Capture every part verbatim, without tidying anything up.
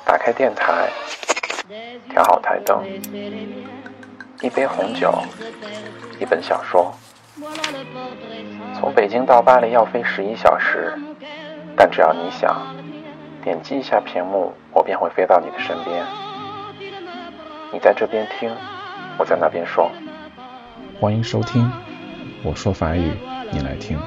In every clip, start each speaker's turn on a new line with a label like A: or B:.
A: 打开电台，调好台灯，一杯红酒，一本小说。从北京到巴黎要飞十一小时，但只要你想，点击一下屏幕，我便会飞到你的身边。你在这边听，我在那边说。
B: 欢迎收听，我说法语，你来听。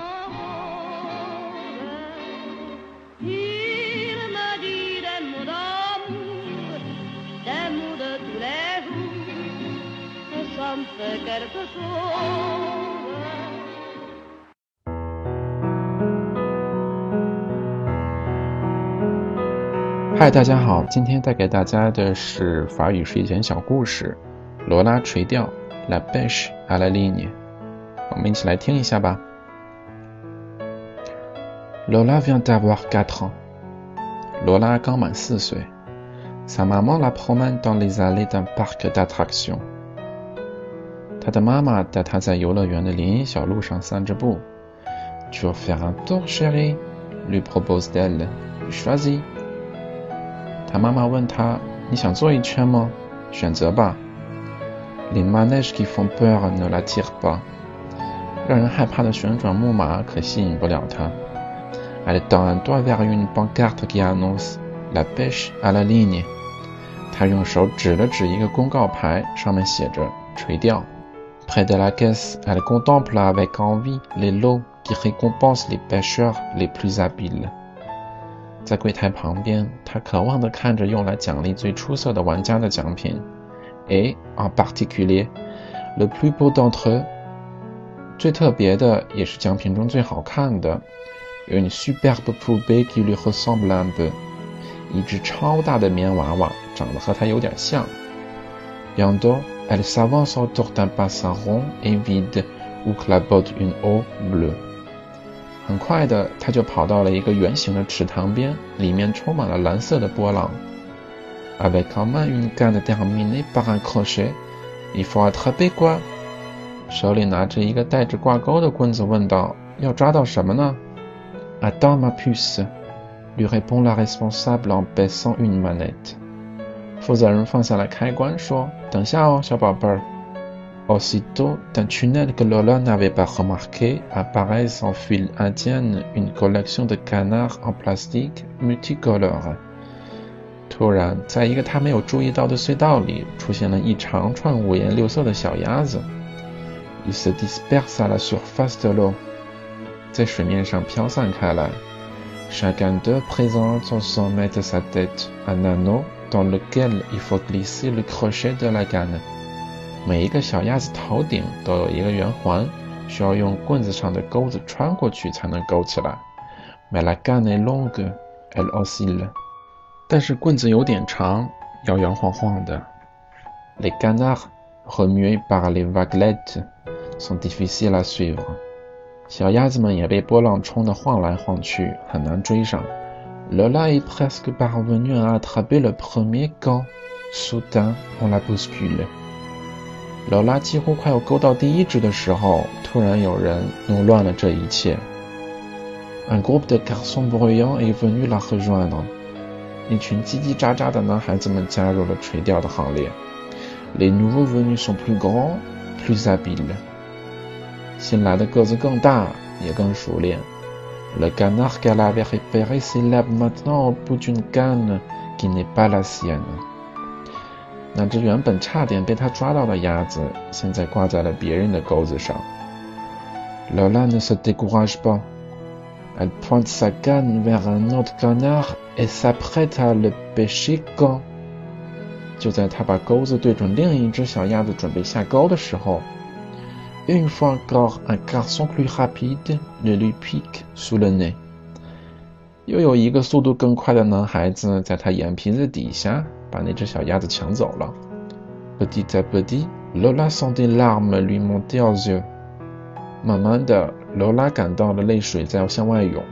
B: 嗨，大家好，今天带给大家的是法语睡前小故事，罗拉垂钓 La pêche à la ligne。 我们一起来听一下吧。 Lola vient d'avoir quatre ans。 罗拉刚满四岁。 Sa maman la promène dans les allées d'un parc d'attractions。 她的妈妈带她在游乐园的林荫小路上散着步。 Tu veux faire un tour, chérie? lui propose-t-elle. Choisis。 她妈妈问她，你想做一圈吗？选择吧。 Les manèges qui font peur ne l'attirent pas。 让人害怕的旋转木马可吸引不了她。 Elle tend un doigt vers une pancarte qui annonce la pêche à la ligne。 她用手指了指一个公告牌，上面写着垂钓。 Près de la caisse, elle contemple avec envie les lots qui récompensent les pêcheurs les plus habiles。 在柜台旁边，她渴望地看着用来奖励最出色的玩家的奖品。 Et, en particulier, le plus beau d'entre eux， 最特别的也是奖品中最好看的 une superbe poupée qui lui ressemble un peu， 一只超大的棉娃娃，长得和她有点像。 Bientôt, elle s'avance autour d'un bassin rond et vide où clapote une eau bleue。 很快的，她就跑到了一个圆形的池塘边，里面充满了蓝色的波浪。 Avec en main une canne terminée par un crochet, il faut attraper quoi？ 手里拿着一个带着挂钩的棍子问道，要抓到什么呢？ Attends ma puce， lui répond la responsable en baissant une manette。 负责人放下了开关说，等下哦，小宝贝儿。 Aussitôt, d'un tunnel que Lola n'avait pas remarqué, apparaît sans fil indienne une collection de canards en plastique multicolores。 突然，在一个他没有注意到的隧道里，出现了一长串五颜六色的小鸭子。 Ils se dispersent à la surface de l'eau， 在水面上飘散开来。 Chacun d'eux présente au sommet de sa tête un anneau dans lequel il faut glisser le crochet de la canne。 每一个小鸭子头顶都有一个圆环，需要用棍子上的钩子穿过去才能勾起来。 Mais la canne est longue, elle oscille。 但是棍子有点长，摇摇晃晃的。 Les canards, remués par les vaguelettes, sont difficiles à suivre。 小鸭子们也被波浪冲得晃来晃去，很难追上。 Lola est presque parvenue à attraper le premier quand, soudain, on la bouscule。 Lola 几乎快要勾到第一只的时候，突然有人弄乱了这一切。 Un groupe de garçons bruyants est venu la rejoindre。 一群叽叽喳喳的男孩子们加入了垂钓的行列。 Les nouveaux venus sont plus grands, plus habiles。 新来的个子更大，也更熟练。 Le canard qu'elle avait repéré s'élève maintenant au bout d'une canne qui n'est pas la sienne。 那只原本差点被他抓到的鸭子，现在挂在了别人的钩子上。 Lola ne se décourage pas。 Elle pointe sa canne vers un autre canard et s'apprête à le pêcher quand。 就在他把钩子对准另一只小鸭子准备下钩的时候， Une fois encore, un garçon plus rapide le lui pique sous le nez。 又有一个速度更快的男孩子在他眼皮子底下把那只小鸭子抢走了。 Petit à petit, Lola sent des larmes lui monter aux yeux。 慢慢的，罗拉感到了泪水在向外涌。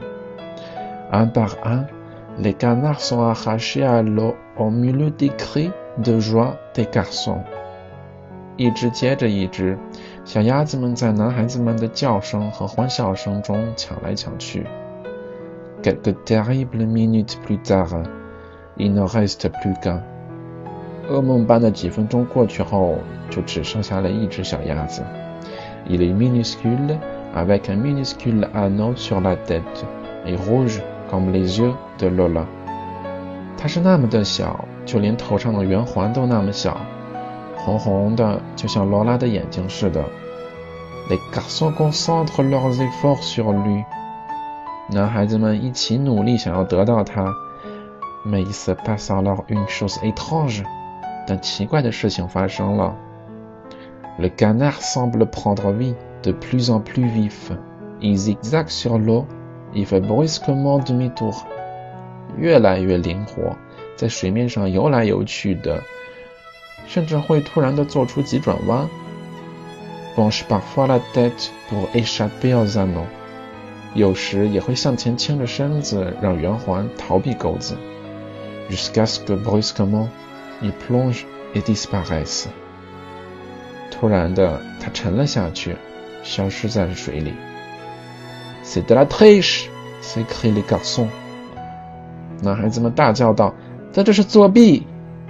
B: Un par un, les canards sont arrachés à l'eau au milieu des cris de joie des garçons。 一只接着一只，小鸭子们在男孩子们的叫声和欢笑声中抢来抢去。 Quelques terribles minutes plus tard, il ne reste plus qu'un。噩梦般的几分钟过去后，就只剩下了一只小鸭子。Il est minuscule, avec un minuscule anneau sur la tête, et rouge comme les yeux de Lola。它是那么的小，就连头上的圆环都那么小，红红的，就像罗拉的眼睛似的。Les garçons concentrent leurs efforts sur lui。男孩子们一起努力想要得到它。Mais il se passe alors une chose étrange。但奇怪的事情发生了。Le canard semble prendre vie, de plus en plus vif. Il zigzague sur l'eau, il fait brusquement demi-tour. 越来越灵活，在水面上游来游去的，甚至会突然地做出急转弯。Penche parfois la tête pour échapper aux anneaux. 有时也会向前倾着身子，让圆环逃避钩子。Jusqu'à ce que brusquement,Ils plongent et disparaissent. 突然的，他沉了下去，消失在了水里。C'est de la triche! s'écrient les garçons. 男孩子们大叫道：“这就是作弊！”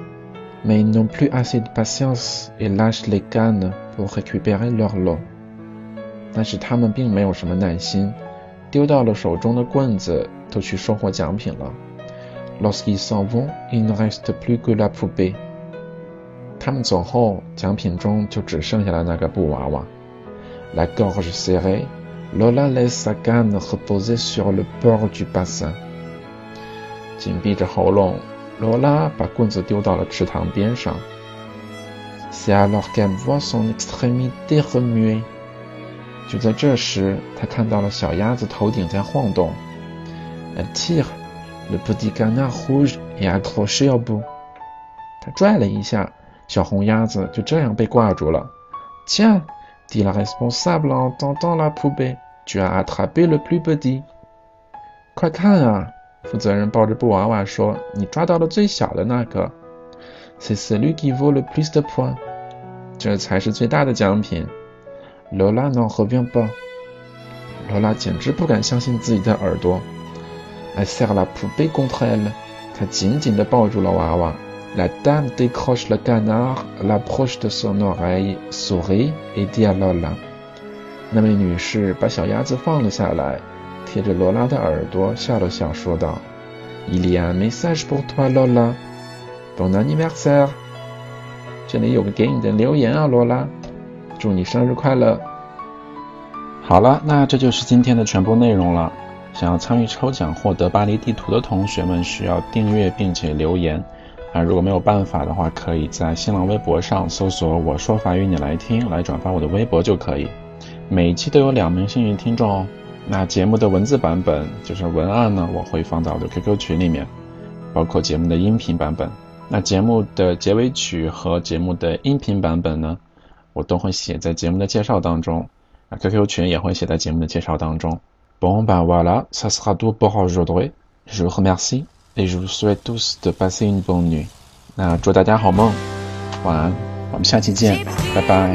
B: Mais ils n'ont plus assez de patience et lâchent les cannes pour récupérer leur lot. 但是他们并没有什么耐心，丢掉了手中的棍子，都去收获奖品了。Lorsqu'ils s'en vont, il ne reste plus que la poupée. 他们走后，奖品中就只剩下了那个布娃娃。La gorge serrée, Lola laisse sa canne reposer sur le bord du bassin. 紧闭着喉咙，罗拉把棍子丢到了池塘边上。C'est alors qu'elle voit son extrémité remuer. 就在这时，她看到了小鸭子头顶在晃动。Elle tire.Le petit canard rouge est accroché au bout. 他拽了一下，小红鸭子就这样被挂住了。Tiens, dit la responsable en tentant la poupée, tu as attrapé le plus petit. 快看啊！负责人抱着布娃娃说：“你抓到了最小的那个。C'est celui qui vaut le plus de points. 这才是最大的奖品。Lola n'en revient pas. 罗拉简直不敢相信自己的耳朵。Elle serre la poupée contre elle. 她紧紧地抱住了娃娃。La dame décroche le canard, l'approche de son oreille, sourit et dit à Lola. 那位女士把小鸭子放了下来，贴着罗拉的耳朵笑了笑，说道 Il y a un message pour toi, Lola. Bon anniversaire. 这里有个给你的留言啊，罗拉，祝你生日快乐。好了，那这就是今天的全部内容了。想要参与抽奖获得巴黎地图的同学们需要订阅并且留言啊，如果没有办法的话，可以在新浪微博上搜索我说法语你来听，来转发我的微博就可以。每一期都有两名幸运听众哦。那节目的文字版本就是文案呢，我会放到我的 Q Q 群里面，包括节目的音频版本。那节目的结尾曲和节目的音频版本呢，我都会写在节目的介绍当中，那 Q Q 群也会写在节目的介绍当中。Bon ben voilà, ça sera tout pour aujourd'hui. Je vous remercie et je vous souhaite tous de passer une bonne nuit. 那祝大家好梦，晚安，我们下期见，拜拜。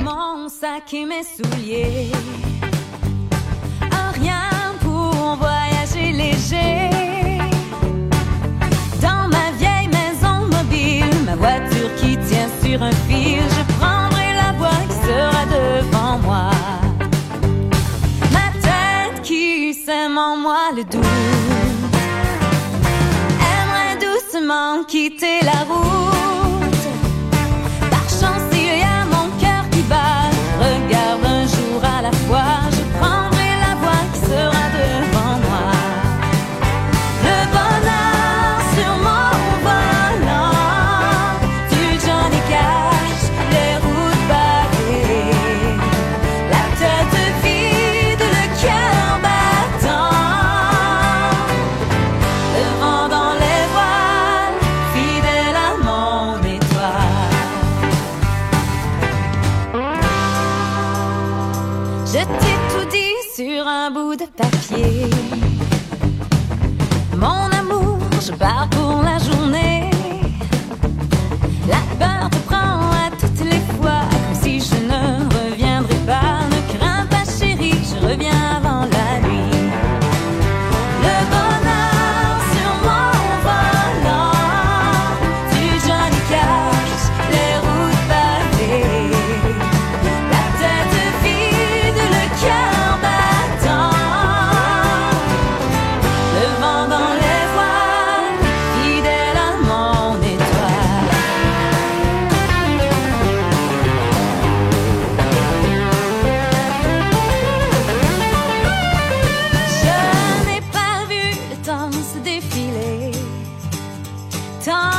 C: Voiture qui tient sur un fil, je prendrai la voie qui sera devant moi. Ma tête qui sème en moi le doute aimerait doucement quitter la route. Par chance il y a mon cœur qui bat, regarde un jour à la fois, je prendrai la voie qui sera devant moi. Le bonheur sur mon volant, je t'ai tout dit sur un bout de papier. Mon amour, je pars pour la journée. La peur te prend à toutes les fois, comme si je ne reviendrais pas. Ne crains pas chérie, je reviens avant la nuit. Le bonheur sur mon volant, temps.